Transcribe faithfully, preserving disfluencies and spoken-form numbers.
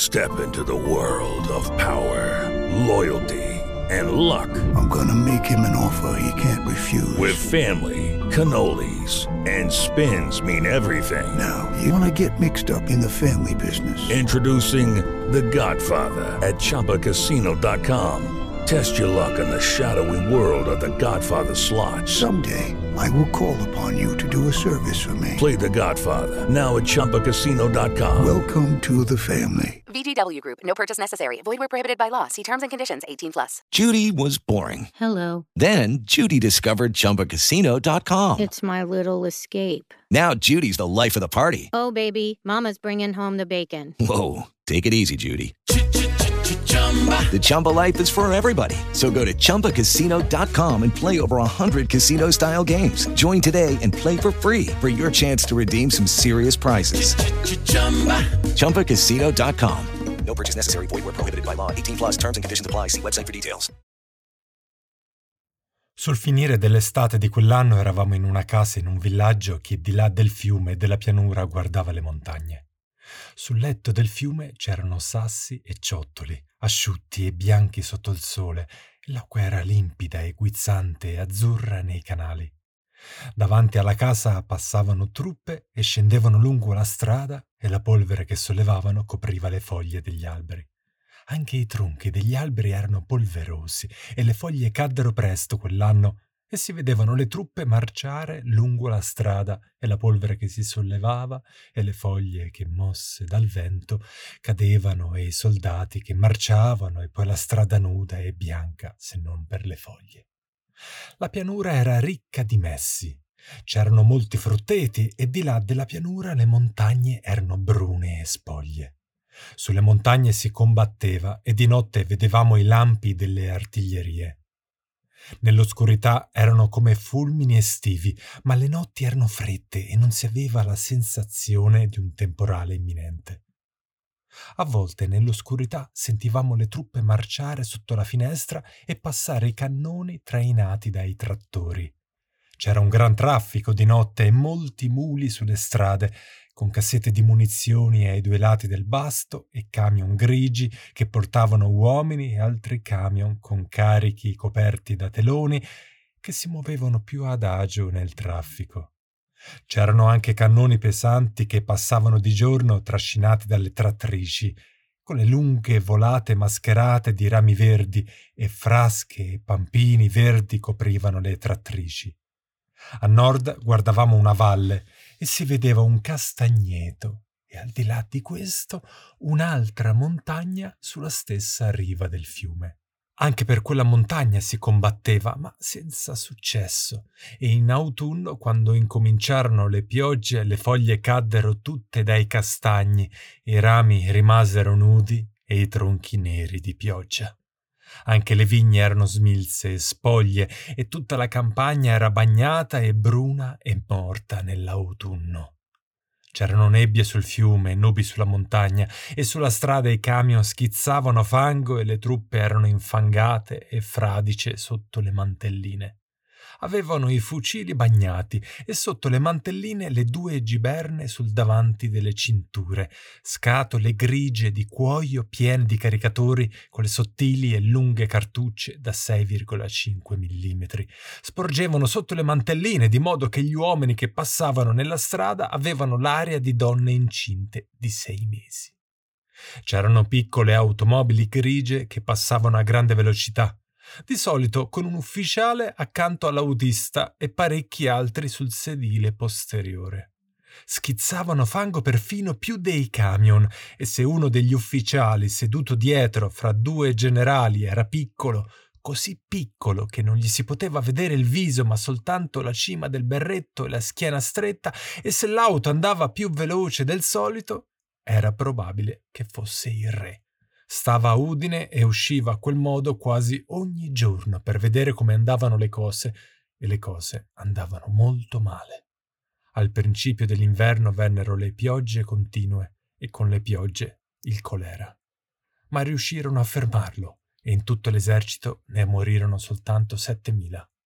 Step into the world of power, loyalty, and luck. I'm gonna make him an offer he can't refuse. With family, cannolis, and spins mean everything. Now, you wanna get mixed up in the family business. Introducing The Godfather at Chumba Casino dot com. Test your luck in the shadowy world of The Godfather slot. Someday, I will call upon you to do a service for me. Play The Godfather, now at Chumba Casino dot com. Welcome to the family. V G W Group. No purchase necessary. Void where prohibited by law. See terms and conditions. eighteen plus. Judy was boring. Hello. Then Judy discovered Chumba Casino dot com. It's my little escape. Now Judy's the life of the party. Oh, baby, mama's bringing home the bacon. Whoa, take it easy, Judy. The Chumba life is for everybody. So go to Chumba Casino dot com and play over one hundred casino-style games. Join today and play for free for your chance to redeem some serious prizes. Chumba Casino dot com. No purchase necessary. Void where prohibited by law. eighteen plus terms and conditions apply. See website for details. Sul finire dell'estate di quell'anno eravamo in una casa in un villaggio che di là del fiume e della pianura guardava le montagne. Sul letto del fiume c'erano sassi e ciottoli, asciutti e bianchi sotto il sole, e l'acqua era limpida e guizzante e azzurra nei canali. Davanti alla casa passavano truppe e scendevano lungo la strada e la polvere che sollevavano copriva le foglie degli alberi. Anche i tronchi degli alberi erano polverosi e le foglie caddero presto quell'anno e si vedevano le truppe marciare lungo la strada e la polvere che si sollevava e le foglie che, mosse dal vento, cadevano e i soldati che marciavano e poi la strada nuda e bianca se non per le foglie. La pianura era ricca di messi. C'erano molti frutteti e di là della pianura le montagne erano brune e spoglie. Sulle montagne si combatteva e di notte vedevamo i lampi delle artiglierie. Nell'oscurità erano come fulmini estivi, ma le notti erano fredde e non si aveva la sensazione di un temporale imminente. A volte nell'oscurità sentivamo le truppe marciare sotto la finestra e passare i cannoni trainati dai trattori. C'era un gran traffico di notte e molti muli sulle strade, con cassette di munizioni ai due lati del basto e camion grigi che portavano uomini e altri camion con carichi coperti da teloni che si muovevano più adagio nel traffico. C'erano anche cannoni pesanti che passavano di giorno trascinati dalle trattrici, con le lunghe volate mascherate di rami verdi e frasche e pampini verdi coprivano le trattrici. A nord guardavamo una valle e si vedeva un castagneto e al di là di questo un'altra montagna sulla stessa riva del fiume. Anche per quella montagna si combatteva, ma senza successo, e in autunno, quando incominciarono le piogge, le foglie caddero tutte dai castagni, i rami rimasero nudi e i tronchi neri di pioggia. Anche le vigne erano smilze e spoglie e tutta la campagna era bagnata e bruna e morta nell'autunno. C'erano nebbie sul fiume e nubi sulla montagna e sulla strada i camion schizzavano fango e le truppe erano infangate e fradice sotto le mantelline. Avevano i fucili bagnati e sotto le mantelline le due giberne sul davanti delle cinture, scatole grigie di cuoio piene di caricatori con le sottili e lunghe cartucce da sei virgola cinque millimetri. Sporgevano sotto le mantelline di modo che gli uomini che passavano nella strada avevano l'aria di donne incinte di sei mesi. C'erano piccole automobili grigie che passavano a grande velocità, di solito con un ufficiale accanto all'autista e parecchi altri sul sedile posteriore. Schizzavano fango perfino più dei camion e se uno degli ufficiali seduto dietro fra due generali era piccolo, così piccolo che non gli si poteva vedere il viso ma soltanto la cima del berretto e la schiena stretta, e se l'auto andava più veloce del solito, era probabile che fosse il re. Stava a Udine e usciva a quel modo quasi ogni giorno per vedere come andavano le cose, e le cose andavano molto male. Al principio dell'inverno vennero le piogge continue e con le piogge il colera. Ma riuscirono a fermarlo e in tutto l'esercito ne morirono soltanto settemila.